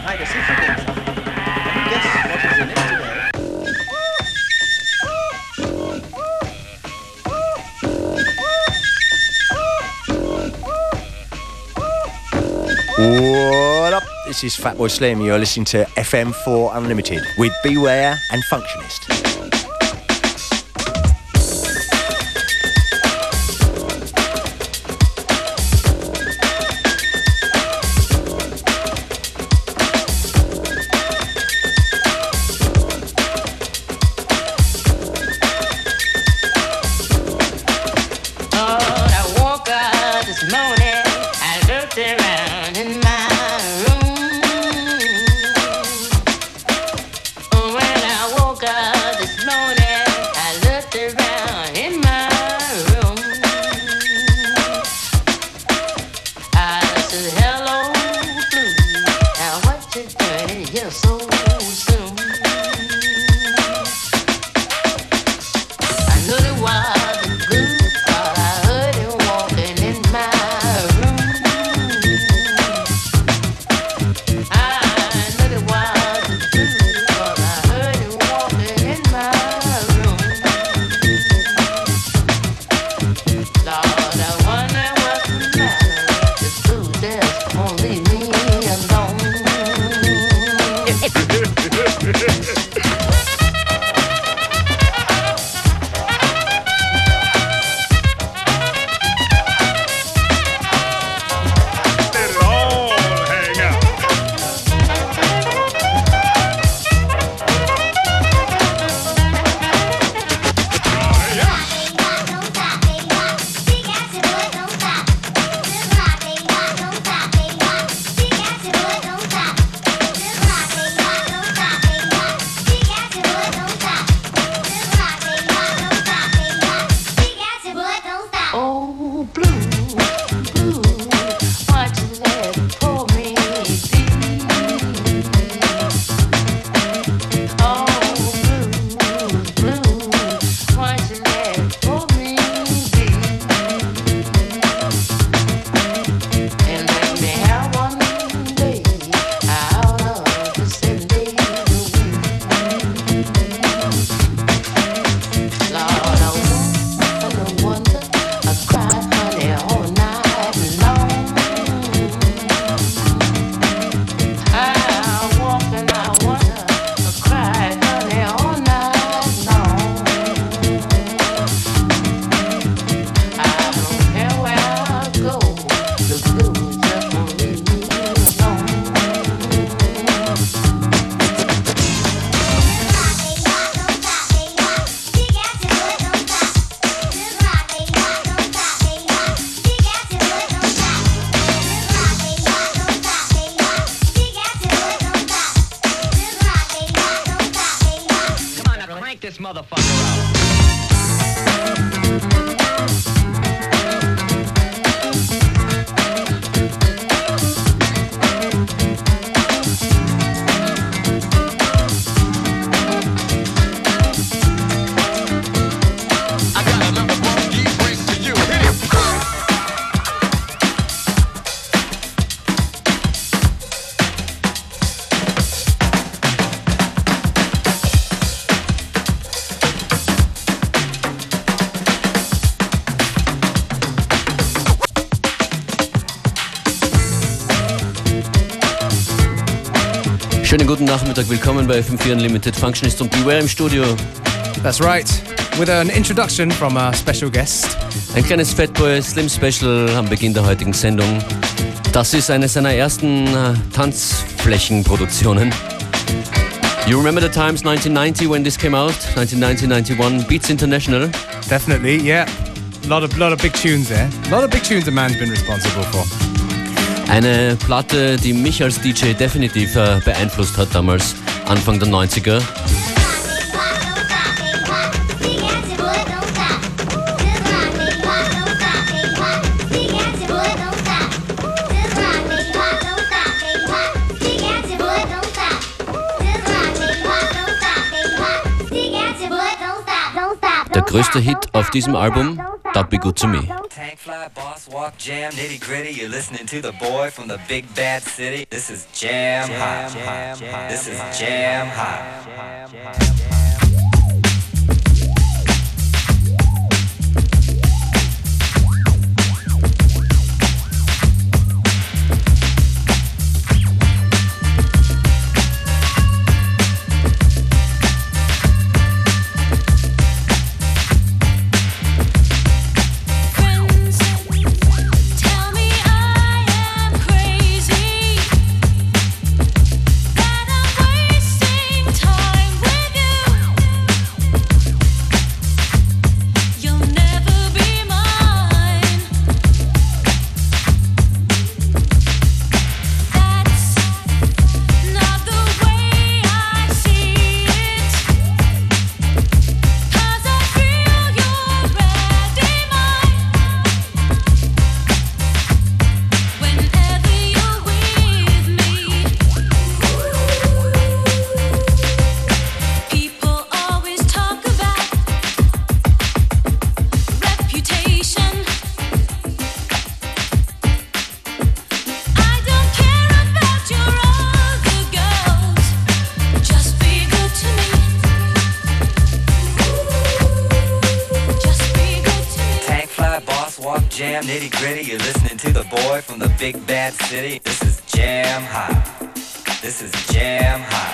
hide a secret in something. Can you guess what is in it today? What up? This is Fatboy Slim. You're listening to FM4 Unlimited with Beware and Functionist. Schönen guten Nachmittag, willkommen bei FM4 Unlimited. Functionist und Beware im Studio. That's right, with an introduction from a special guest. Ein kleines Fatboy Slim Special am Beginn der heutigen Sendung. Das ist eine seiner ersten Tanzflächenproduktionen. You remember the times 1990 when this came out? 1990-91, Beats International? Definitely, yeah. A lot of big tunes there. A lot of big tunes a man's been responsible for. Eine Platte, die mich als DJ definitiv beeinflusst hat damals, Anfang der 90er. Größter Hit auf diesem Album, Don't Be Good to Me. Tank fly, boss walk, jam, nitty gritty. You're listening to the boy from the big bad city. This is Jam Hot. This is Jam Hot. Jam nitty gritty, you're listening to the boy from the big bad city. This is Jam Hot. This is Jam Hot.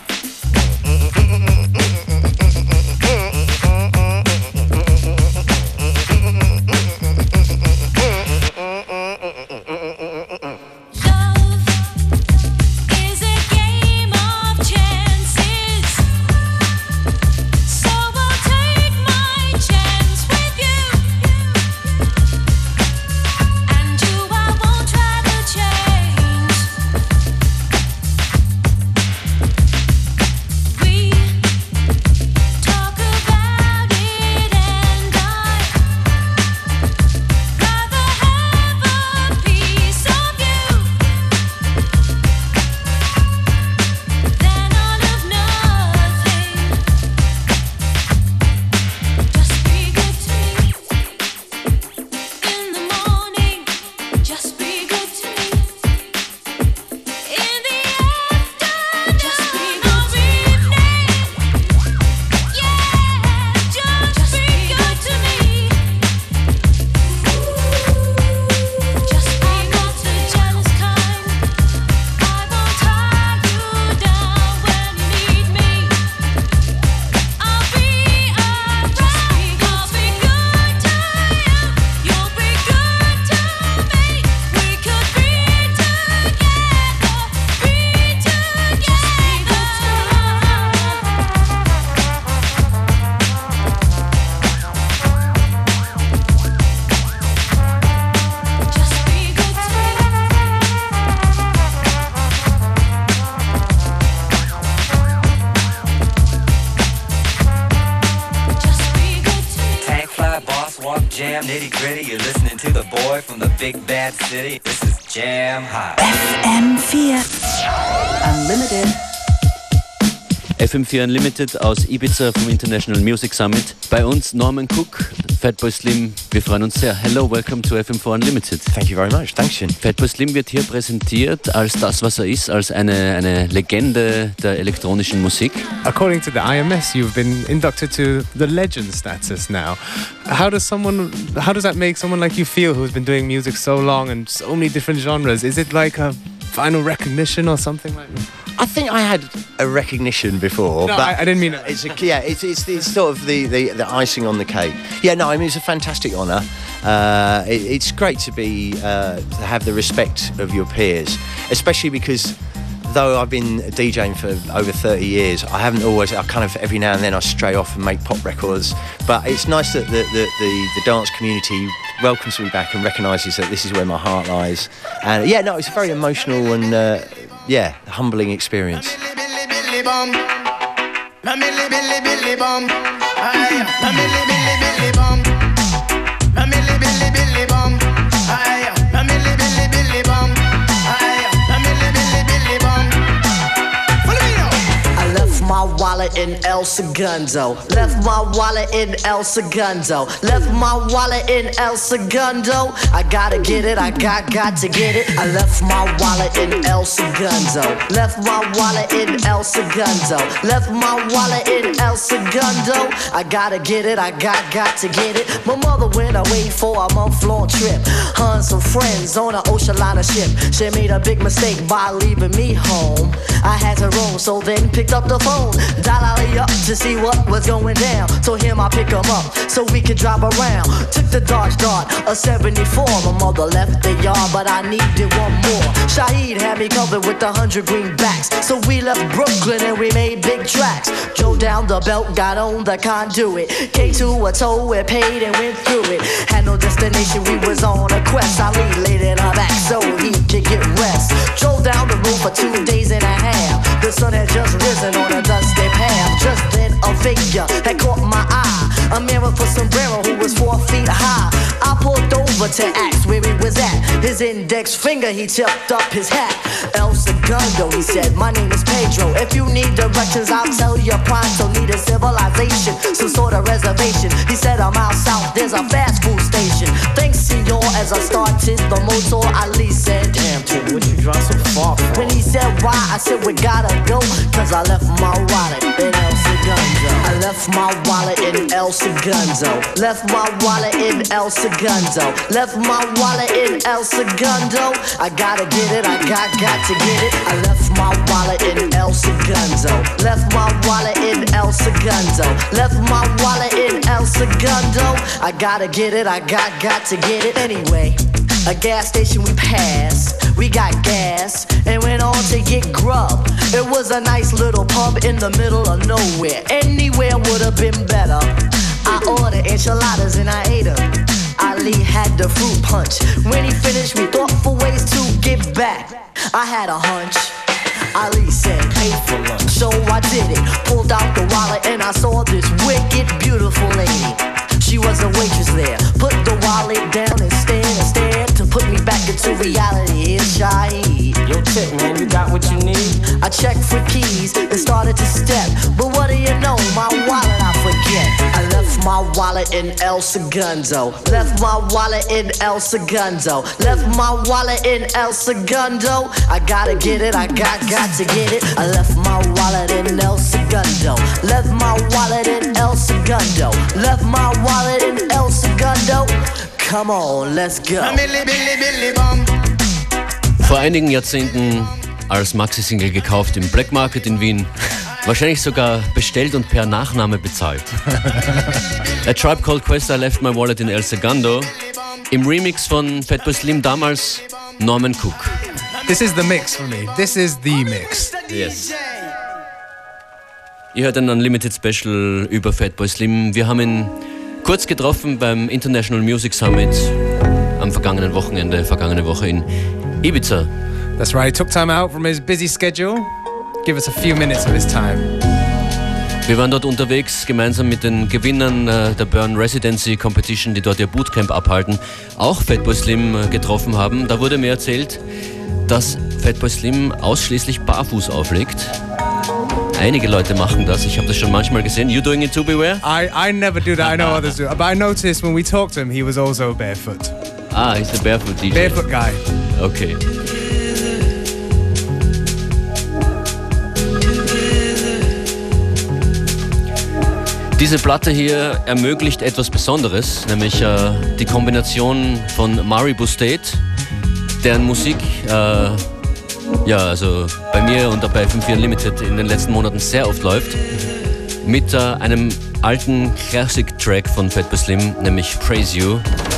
Jam nitty gritty, you're listening to the boy from the big bad city. This is Jam Hot. FM4 Unlimited. FM4 Unlimited aus Ibiza vom International Music Summit. Bei uns Norman Cook, Fatboy Slim. Wir freuen uns sehr. Hello, welcome to FM4 Unlimited. Thank you very much. Thanks, Shin. Fatboy Slim wird hier präsentiert als das, was er ist, als eine Legende der elektronischen Musik. According to the IMS, you've been inducted to the legend status now. How does that make someone like you feel who's been doing music so long and so many different genres? Is it like a final recognition or something like that? I think I had a recognition before. No, but I didn't mean it. It's sort of the icing on the cake. Yeah, no, I mean, it's a fantastic honour. It's great to be to have the respect of your peers, especially because though I've been DJing for over 30 years, I kind of every now and then I stray off and make pop records. But it's nice that the dance community welcomes me back and recognises that this is where my heart lies. And yeah, no, it's a very emotional and humbling experience. I left my wallet in El Segundo. Left my wallet in El Segundo. Left my wallet in El Segundo. I gotta get it, I got to get it. I left my wallet in El Segundo. Left my wallet in El Segundo. Left my wallet in El Segundo. I gotta get it, I got to get it. My mother went away for a month-long trip. Her and some friends on an ocean liner ship. She made a big mistake by leaving me home. I had to roam, so then picked up the phone. Dial up to see what was going down. Told him I'd pick him up so we could drive around. Took the Dodge Dart, a 74. My mother left the yard, but I needed one more. Shaheed had me covered with 100 greenbacks. So we left Brooklyn and we made big tracks. Drove down the belt, got on the conduit. Came to a toll, we paid and went through it. Had no destination, we was on a quest. Ali laid in her back so he could get rest. Drove down the road for 2 days and a half. The sun had just risen on a dusty path. Just then a figure had caught my eye. A man with a sombrero who was 4 feet high. I pulled over to ask where he was at. His index finger, he tipped up his hat. El Segundo, he said, my name is Pedro. If you need directions, I'll tell you pronto. Need a civilization, some sort of reservation. He said, I'm out south, there's a fast food station. Thanks, senor, as I started the motor. Ali said, damn, kid, what you drive so far from? When he said why, I said, we gotta go. Cause I left my wallet in El Segundo. I left my wallet in El Segundo. Left my wallet in El Segundo. Left my wallet in El Segundo. I gotta get it, I got to get it. I left my wallet in El Segundo. Left my wallet in El Segundo. Left my wallet in El Segundo. I gotta get it, I got to get it. Anyway, a gas station we passed. We got gas and went on to get grub. It was a nice little pub in the middle of nowhere. Anywhere would have been better. I ordered enchiladas and I ate them. Ali had the fruit punch. When he finished, we thought for ways to get back. I had a hunch. Ali said, pay for lunch. So I did it. Pulled out the wallet and I saw this wicked, beautiful lady. She was a waitress there. Put the wallet down and stared to put me back into reality. It's Shaheed. Yo, tip, man, you got what you need? I checked for keys and started to step. But what do you know? My wallet I forget. I left my wallet in El Segundo. Left my wallet in El Segundo. Left my wallet in El Segundo. I gotta get it, I got to get it. I left my wallet in El Segundo. Left my wallet in El Segundo. Left my wallet in El Segundo. Come on, let's go. Vor einigen Jahrzehnten als Maxi-Single gekauft im Black Market in Wien. Wahrscheinlich sogar bestellt und per Nachname bezahlt. A Tribe Called Quest, I Left My Wallet in El Segundo. Im Remix von Fatboy Slim, damals Norman Cook. This is the mix for me. This is the mix. Yes. Ihr hört ein Unlimited Special über Fatboy Slim. Wir haben ihn kurz getroffen beim International Music Summit am vergangene Woche in Ibiza. That's right. He took time out from his busy schedule. Give us a few minutes of his time. Wir waren dort unterwegs, gemeinsam mit den Gewinnern der Burn Residency Competition, die dort ihr Bootcamp abhalten, auch Fatboy Slim getroffen haben. Da wurde mir erzählt, dass Fatboy Slim ausschließlich barfuß auflegt. Einige Leute machen das, ich habe das schon manchmal gesehen. You doing it too, Beware? I never do that, I know others do. But I noticed when we talked to him, he was also barefoot. Ah, he's the barefoot DJ. Barefoot guy. Okay. Diese Platte hier ermöglicht etwas Besonderes, nämlich die Kombination von Maribu State, deren Musik also bei mir und bei FM4 Unlimited in den letzten Monaten sehr oft läuft, mit einem alten Classic-Track von Fatboy Slim, nämlich Praise You.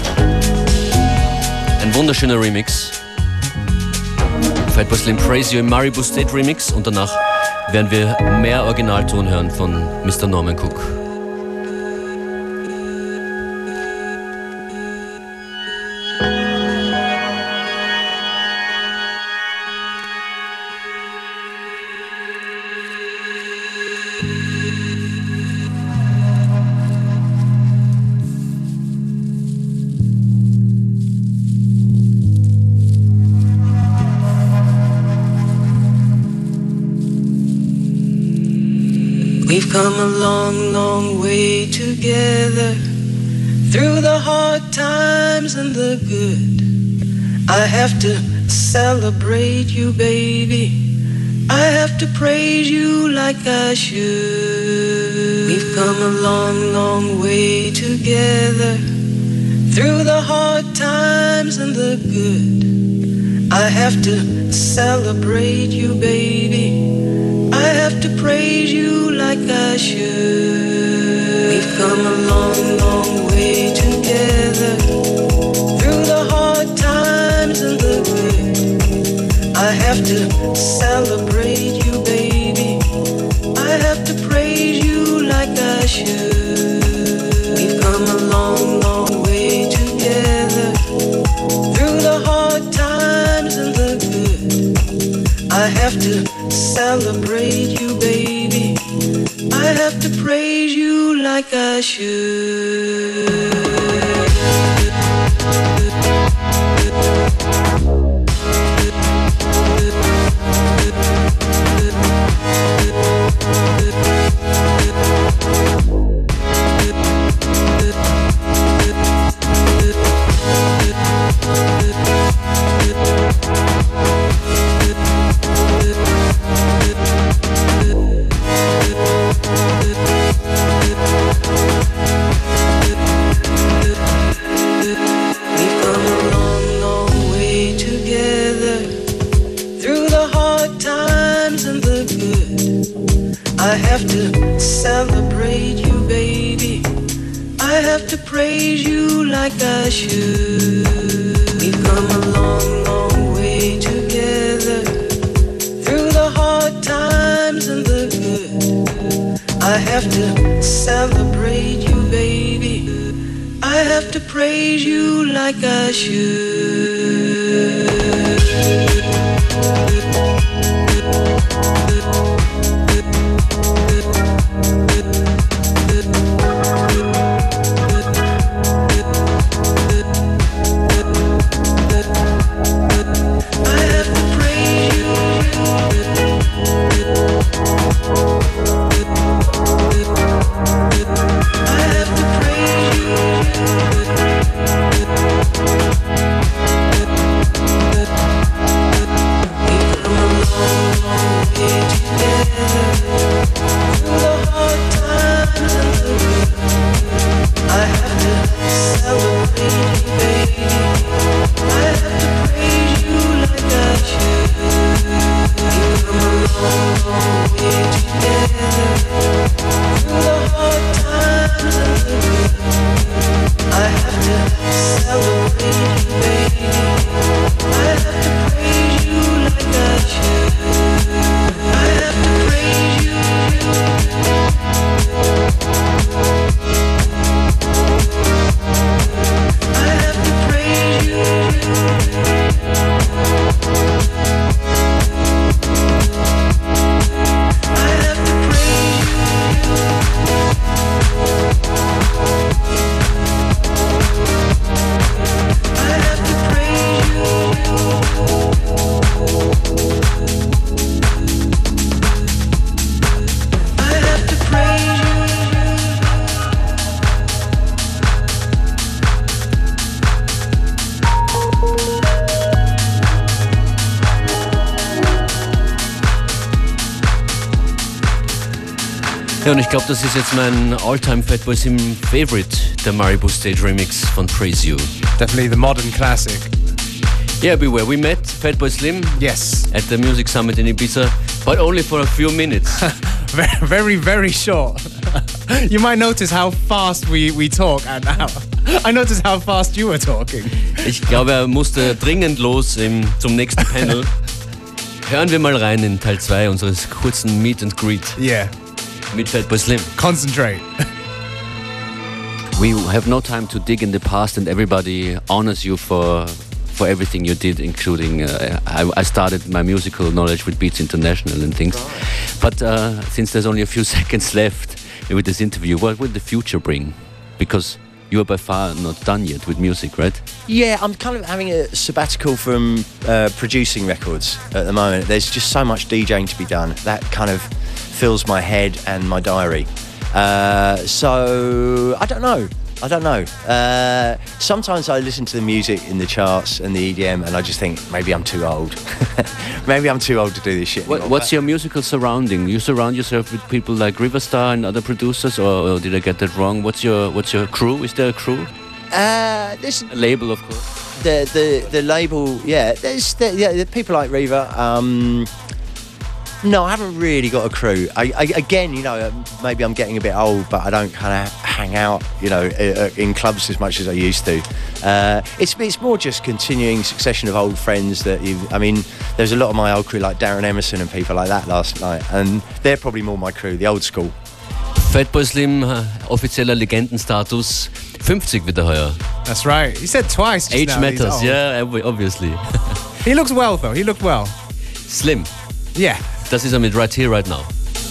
Ein wunderschöner Remix. Fatboy Slim Praise You im Maribu State Remix und danach werden wir mehr Originalton hören von Mr. Norman Cook. We've come a long, long way together, through the hard times and the good. I have to celebrate you, baby. I have to praise you like I should. We've come a long, long way together, through the hard times and the good. I have to celebrate you, baby. I have to praise you like I should. We've come a long, long way together, through the hard times and the good. I have to celebrate you, baby. I have to praise you like I should. We've come a long, long way together, through the hard times and the good. I have to celebrate you, baby. I have to praise you like I should. I have to celebrate you, baby. I have to praise you like I should. We've come a long, long way together, through the hard times and the good. I have to celebrate you, baby. I have to praise you like I should. Ja, und ich glaube, das ist jetzt mein All-Time Fatboy Slim Favorite, der Maribu Stage Remix von Praise You. Definitely the modern classic. Yeah, beware. We met Fatboy Slim. Yes. At the Music Summit in Ibiza, but only for a few minutes. Very, very short. You might notice how fast we talk and how I noticed how fast you were talking. Ich glaube, er musste dringend los zum nächsten Panel. Hören wir mal rein in Teil 2 unseres kurzen Meet and Greet. Yeah. Mit Fatboy Slim. Concentrate. We have no time to dig in the past, and everybody honors you for everything you did, including I started my musical knowledge with Beats International and things. But since there's only a few seconds left with this interview, what will the future bring? Because you are by far not done yet with music, right? Yeah, I'm kind of having a sabbatical from producing records at the moment. There's just so much DJing to be done. That kind of fills my head and my diary. So I don't know. Sometimes I listen to the music in the charts and the EDM and I just think maybe I'm too old. Maybe I'm too old to do this shit anymore. What's your musical surrounding? You surround yourself with people like Riverstar and other producers, or did I get that wrong? What's your crew? Is there a crew? There's a label, of course. The label, yeah. There's people like Reva. No, I haven't really got a crew. Again, you know, maybe I'm getting a bit old, but I don't kind of hang out, you know, in clubs as much as I used to. It's more just continuing succession of old friends that there's a lot of my old crew like Darren Emerson and people like that last night, and they're probably more my crew, the old school. Fatboy Slim, offizieller Legendenstatus, 50 wird er heuer. That's right. He said twice just Age now, matters, yeah, obviously. He looks well, though. He looked well. Slim. Yeah. Das ist er mit Right Here, Right Now.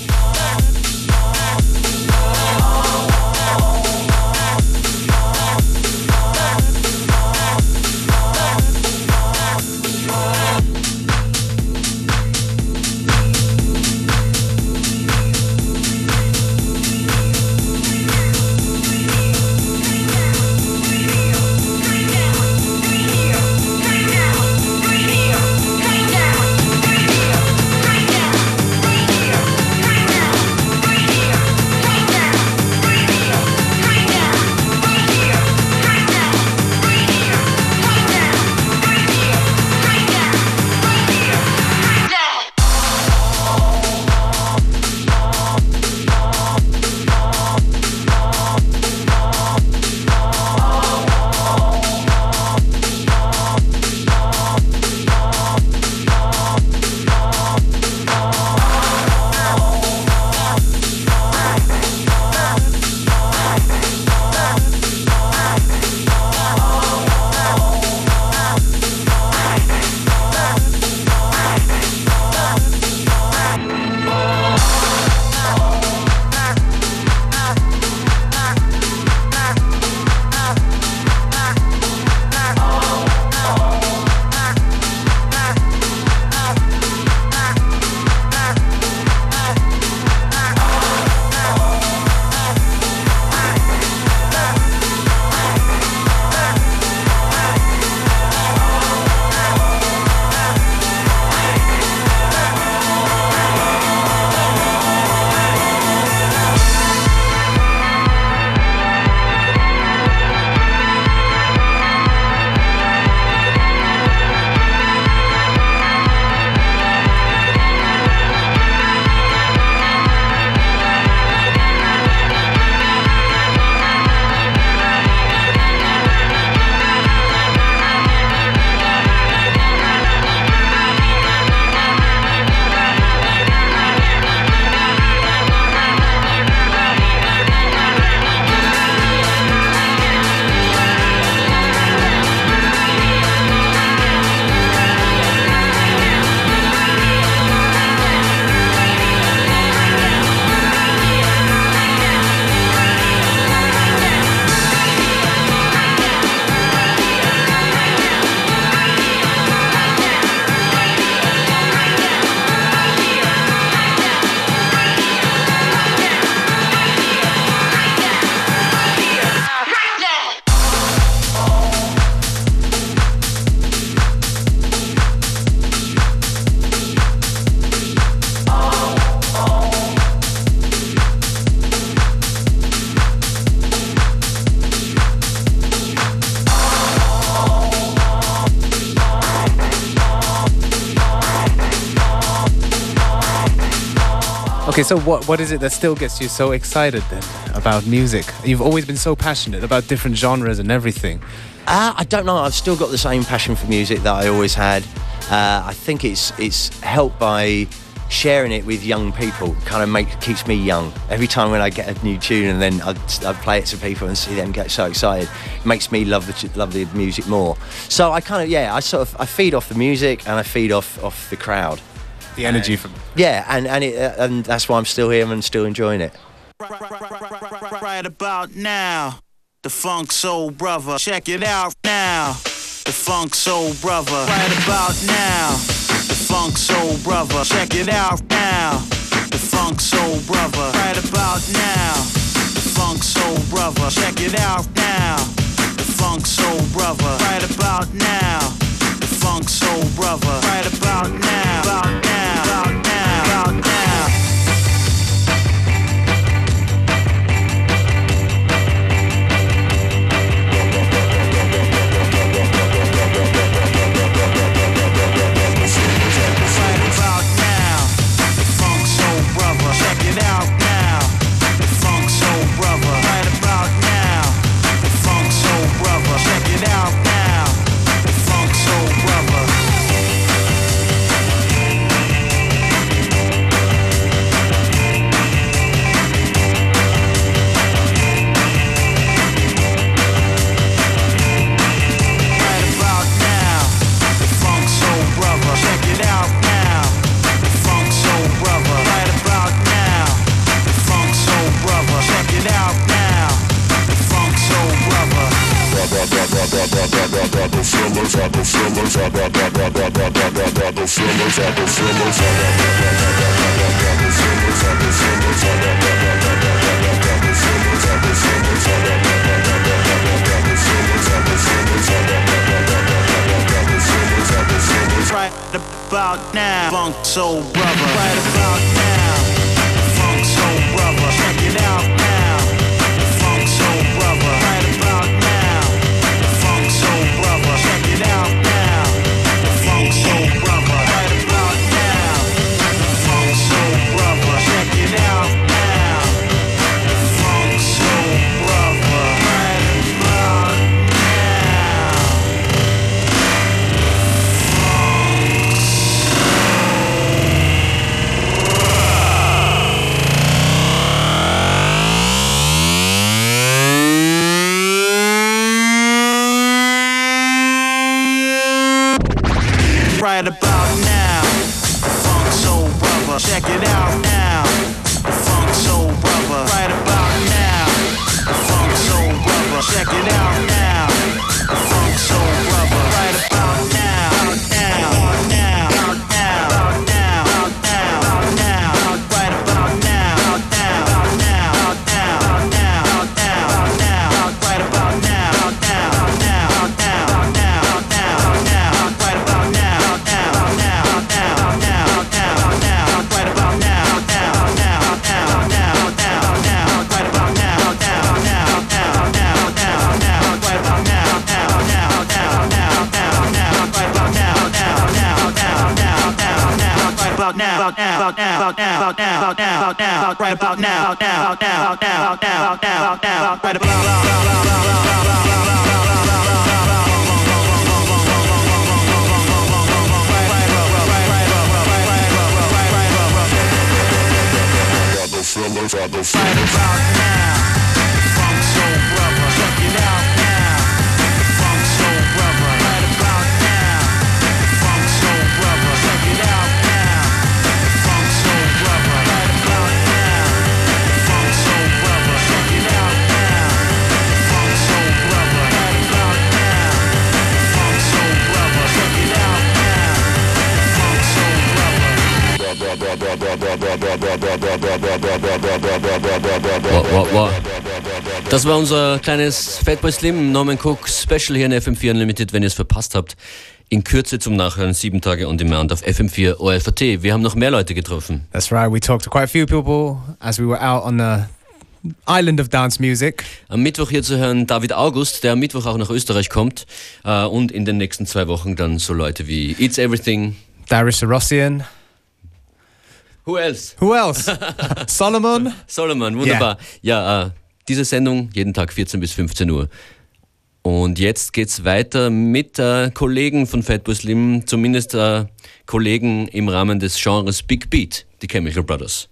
Okay, so what is it that still gets you so excited then about music? You've always been so passionate about different genres and everything. I don't know. I've still got the same passion for music that I always had. I think it's helped by sharing it with young people. Kind of keeps me young. Every time when I get a new tune and then I play it to people and see them get so excited, it makes me love the music more. So I kind of I feed off the music and I feed off the crowd. The energy from and that's why I'm still here and still enjoying it. Right about now, the Funk Soul Brother. Check it out now, the Funk Soul Brother. Right about now, the Funk Soul Brother. Check it out now, the Funk Soul brother. Right about now, the Funk Soul Brother. Check it out now, the Funk Soul Brother. Right about now, the Funk Soul Brother. Right about now, about now, about now, about now. Right about now, Funk Soul Brother. Right about now, Funk Soul Brother. Check it out now, Funk Soul Brother. Right about now, Funk Soul Brother. Check it out now, Funk Soul Brother. Right about now, Funk Soul Brother. Check it out now, Funk Soul Brother. Right about now. Right about now, the Funk Soul Brother. Check it out now, the Funk Soul Brother. Right about now, the Funk Soul Brother. Check it out now, the Funk Soul Brother. Right about now, now, now, now, now, now, now. Right about now, now, now, now, now, now. Right about now, now, now, now, now. Right about now. Das war unser kleines Fatboy Slim Norman Cook Special hier in FM4 Unlimited, wenn ihr es verpasst habt. In Kürze zum Nachhören, 7 Tage on Demand auf FM4 ORFAT. Wir haben noch mehr Leute getroffen. That's right, we talked to quite a few people as we were out on the island of dance music. Am Mittwoch hier zu hören David August, der am Mittwoch auch nach Österreich kommt. Und in den nächsten 2 Wochen dann so Leute wie It's Everything, Darius Sarossian. Who else? Solomon. Solomon, wunderbar. Ja, diese Sendung jeden Tag 14 bis 15 Uhr. Und jetzt geht's weiter mit Kollegen von Fatboy Slim, zumindest Kollegen im Rahmen des Genres Big Beat, die Chemical Brothers.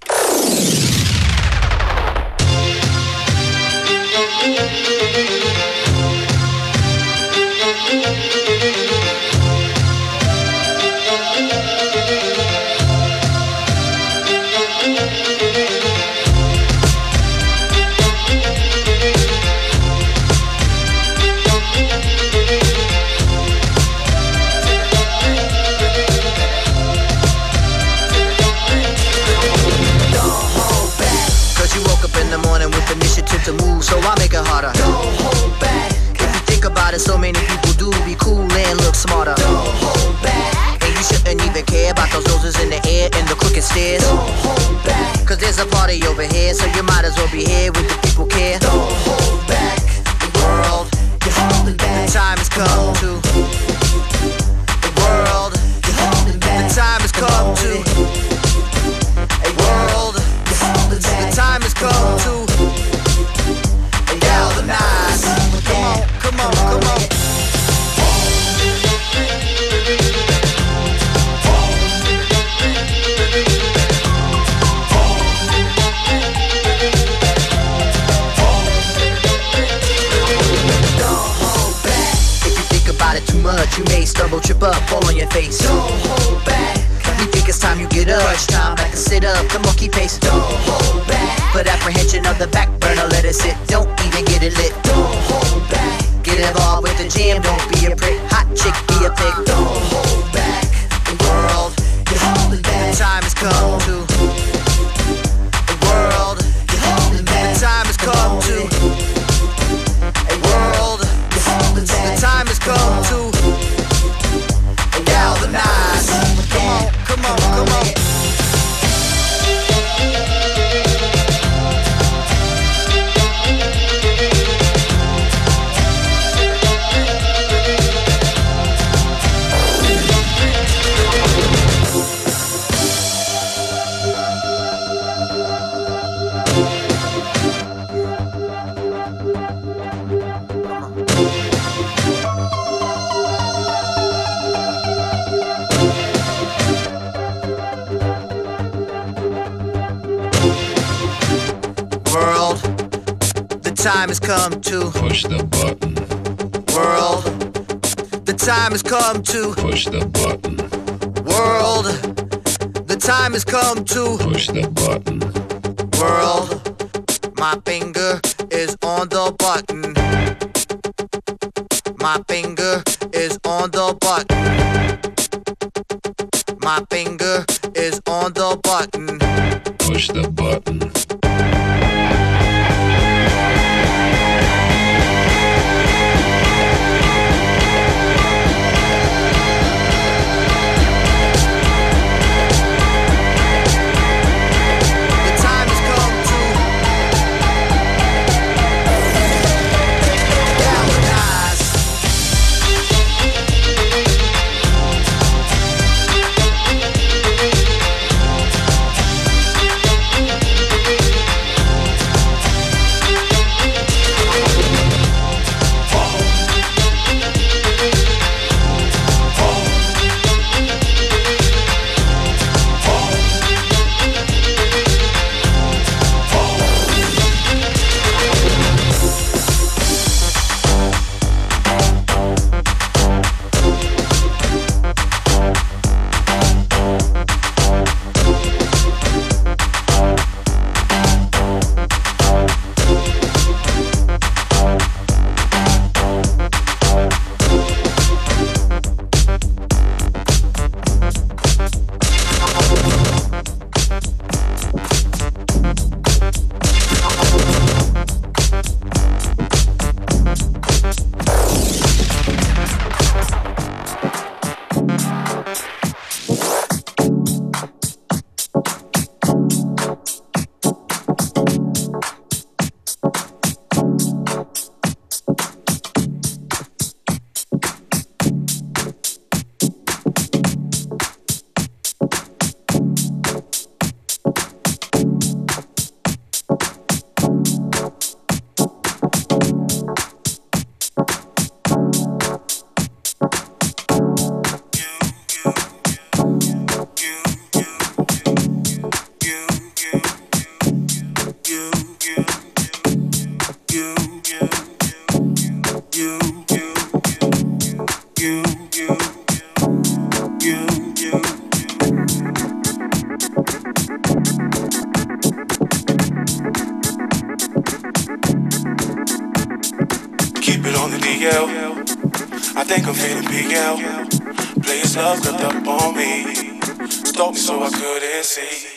so I make it harder. Don't hold back. If you think about it, so many people do be cool and look smarter. Don't hold back. And you shouldn't even care about those noses in the air and the crooked stairs. Don't hold back. Cause there's a party over here, so you might as well be here when the people care. Don't hold back. The world, you're holding back. The time has come to. The world, you're holding back. The time has come to. A world, you're holding back. The time has come to. Galvanize. Come on, come on. Too much, you may stumble, trip up, fall on your face. Don't hold back. You think it's time you get up. Crunch time, back and sit up. Come on, keep pace. Don't hold back. Put apprehension of the back burner, let it sit. Don't even get it lit. Don't hold back. Get involved with the jam, don't be a prick. Hot chick, be a pig. Don't hold back. The world, you're holding back. The time has come to. The world, you're holding back. The time has come to. A world. The time has come to galvanize. Come on, come on. Time has come to push the button. World, the time has come to push the button. World, the time has come to push the button. World, my finger is on the button. My finger is on the button. My finger is on the button. Push the button. I think I'm feeling big out. Players love crept up on me. Stalked me so I couldn't see.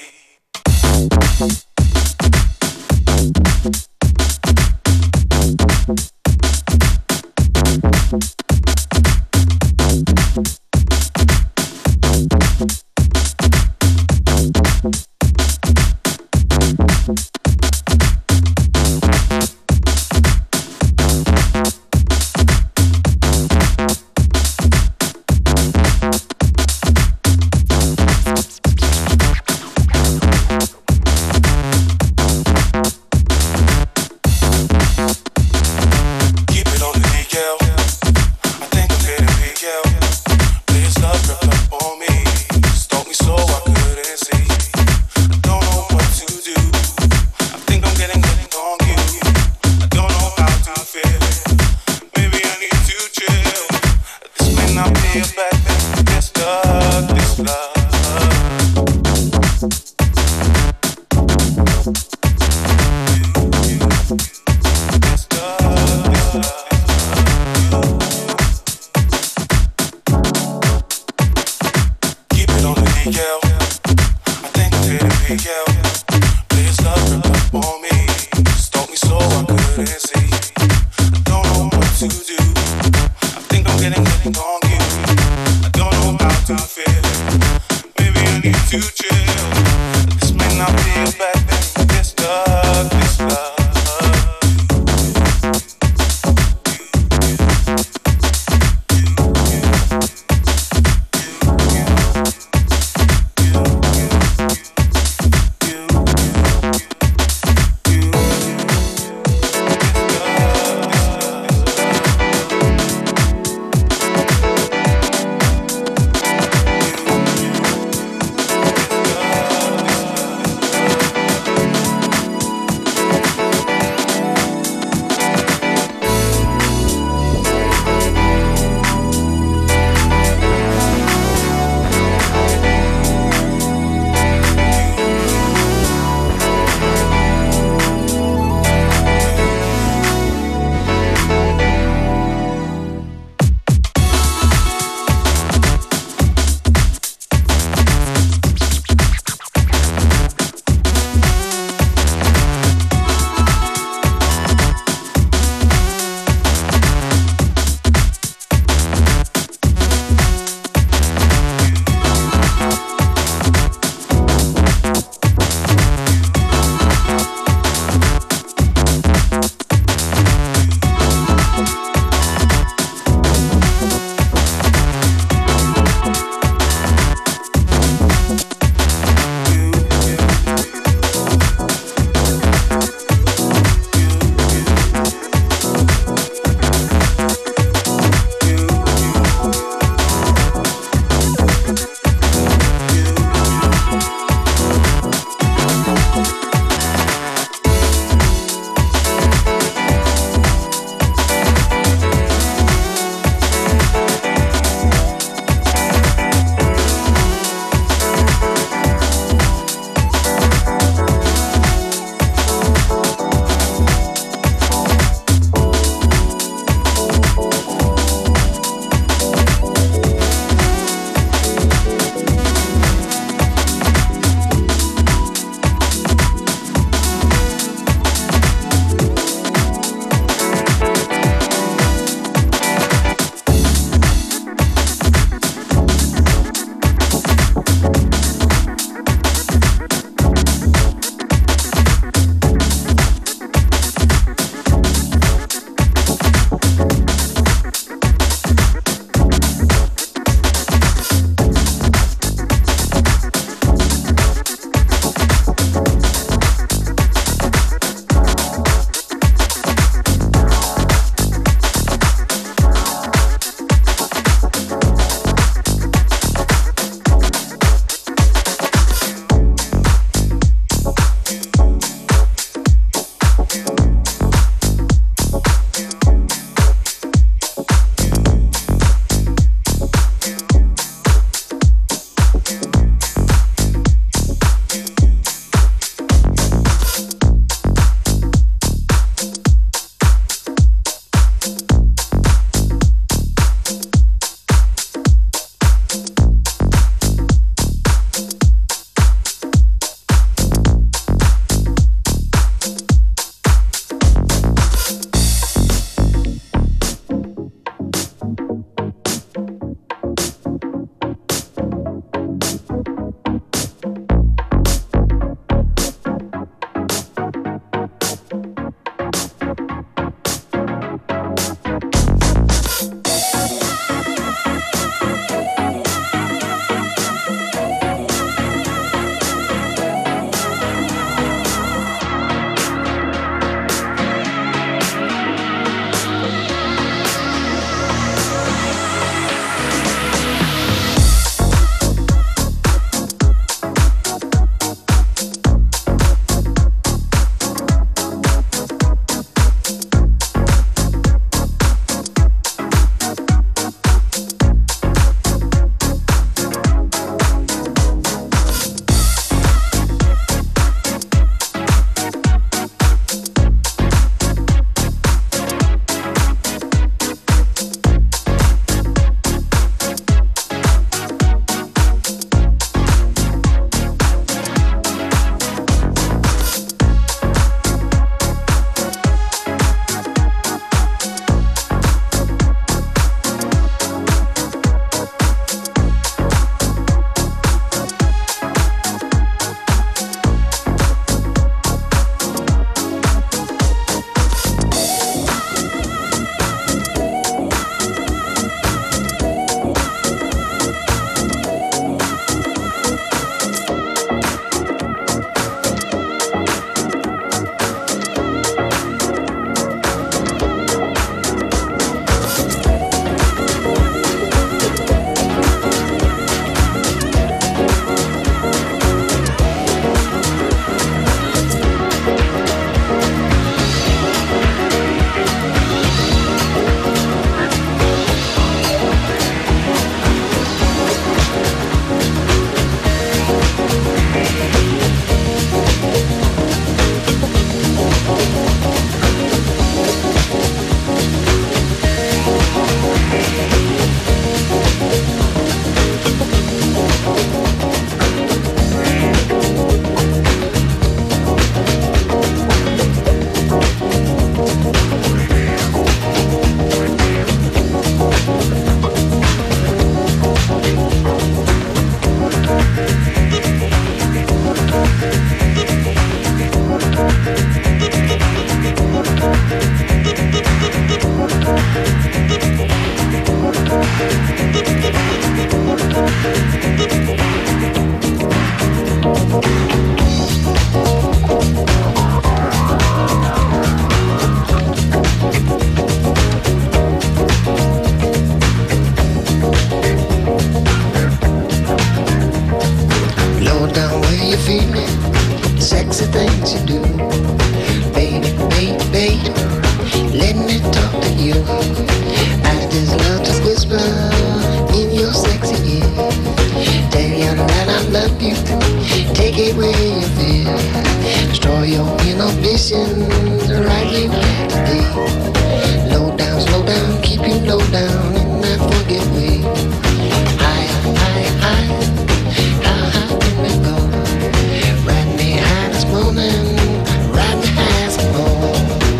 things you do. Baby, baby, baby, let me talk to you. I just love to whisper in your sexy ear. Tell you that I love you, take it where you feel. Destroy your inhibitions, right where you have to be. Slow down, keep you low down in that forget way. Higher, higher, higher, how high can we go? Ride me high this morning, ride me high some more.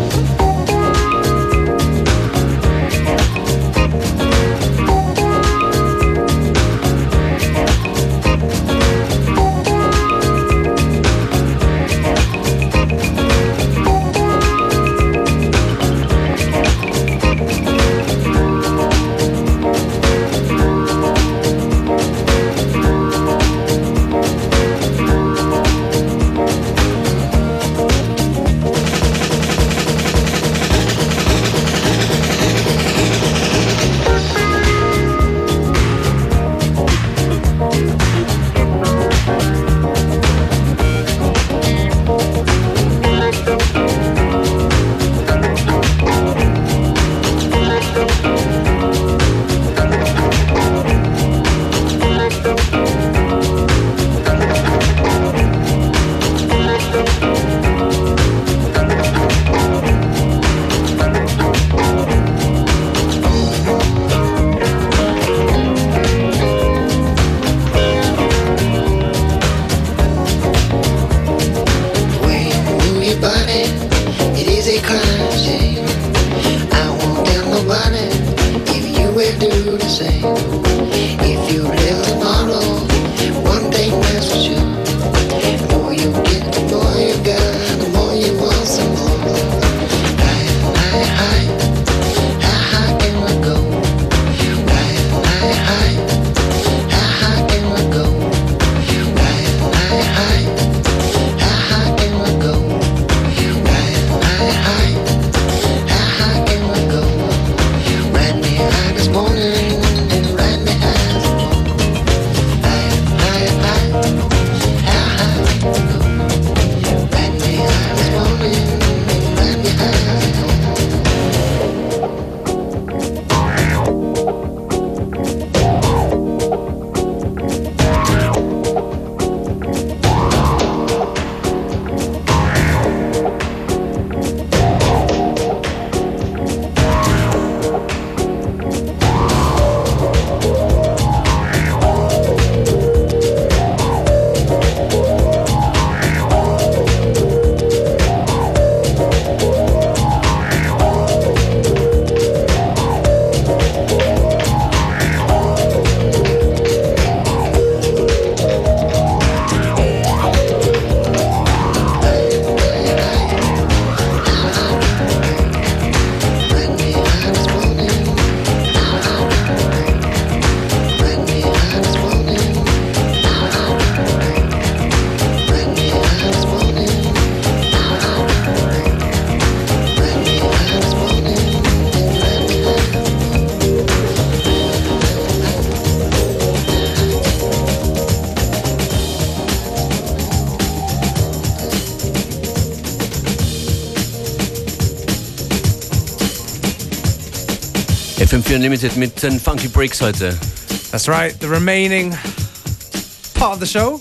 FM4 Unlimited mit den Funky Breaks heute. That's right, the remaining part of the show.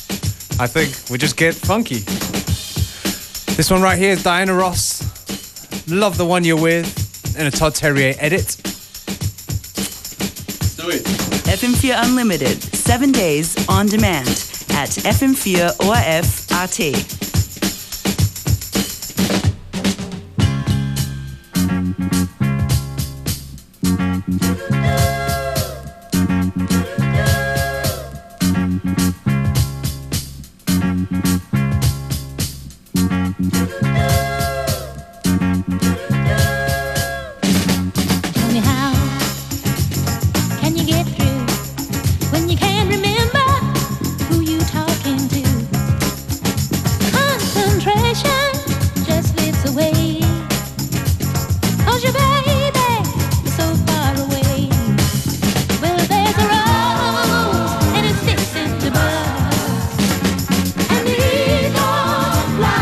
I think we just get funky. This one right here is Diana Ross. Love the One You're With in a Todd Terje edit. Let's do it. FM4 Unlimited, 7 days on demand at FM4 ORF.at. Fly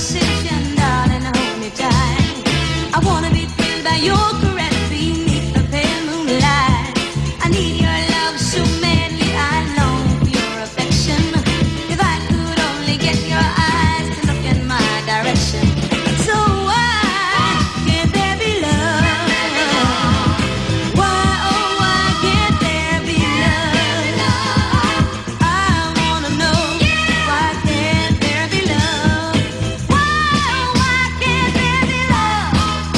conversation, darling, hold me tight. I wanna be thrilled by your caress beneath the pale moonlight. I need your love so madly, I long for your affection. If I could only get your eyes to look in my direction. So why can't there be love? Why, oh, why can't there be love? I wanna know, why can't there be love? Why, oh, why can't there be love?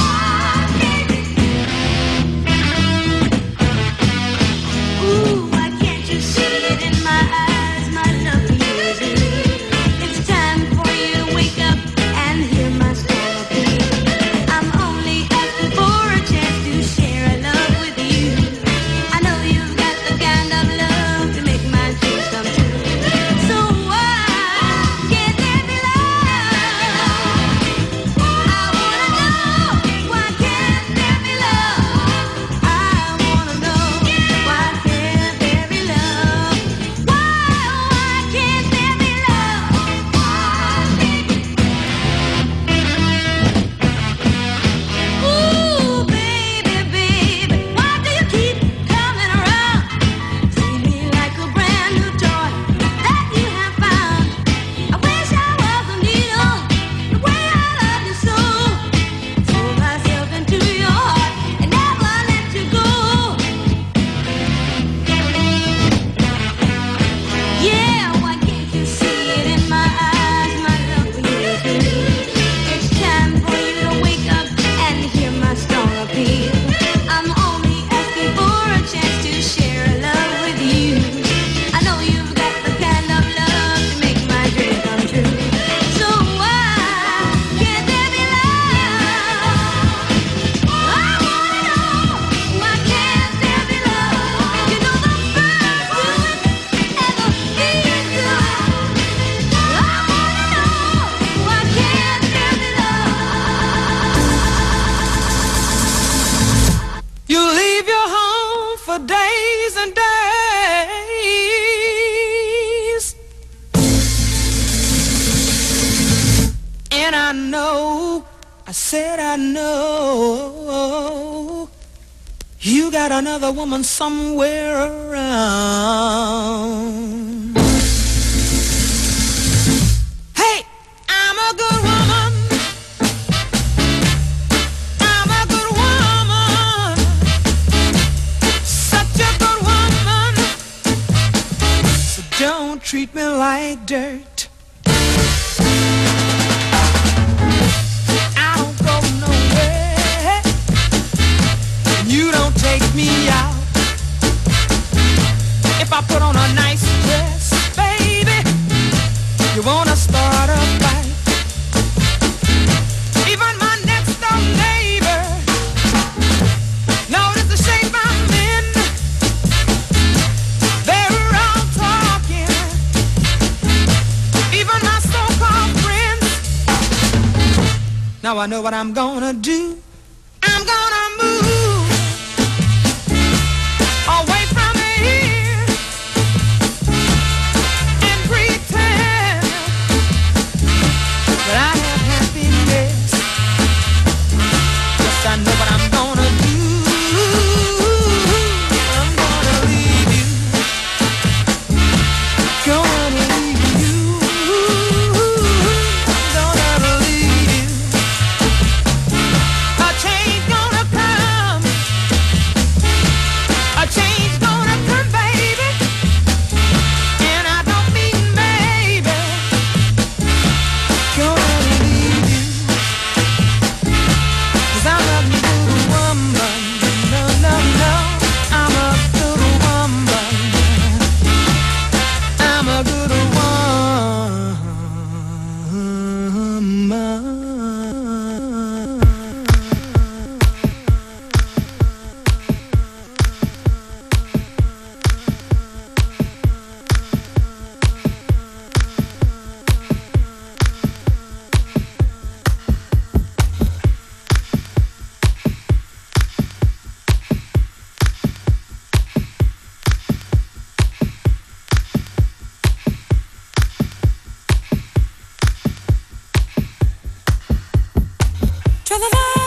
Ooh, why can't you see it in my eyes, my love for you is real. It's time for you to wake up and hear my strong appeal. I'm only asking for a chance to share a love with you. I know you've got the kind of love to make my dreams come true. So why can't there be love? I wanna know, why can't there be love? I wanna know, why can't there be love? Why can't there be love? Ooh, baby, baby, why do you keep coming around? See me like a brand new toy that you have found. I wish I was a needle, the way I love you so. Throw myself into your heart and never let you go. Yeah, why can't you see it in my eyes? My love for you is real. It's time for you to wake up and hear my strong appeal. I'm only asking for a chance to share a love with you. I know you've got the kind of love to make my dreams come true. So why can't there be love? I wanna know, why can't there be love? You know the birds do it and the bees do it. I wanna know, why can't there be love? You leave your home for days and days, and I know, I said I know, you got another woman somewhere around. Hey, I'm a good woman. I'm a good woman. Such a good woman. So don't treat me like dirt. I don't go nowhere. You don't take me out. If I put on a nice dress, baby, you wanna start a fight. Even my next door neighbor notice the shape I'm in. They're all talking. Even my so-called friends. Now I know what I'm gonna do. I'm gonna move away from here and pretend that I have happiness. Yes, I know what I'm gonna do. I'm gonna leave you. Gonna leave you. Gonna leave you. I Tra-la-la.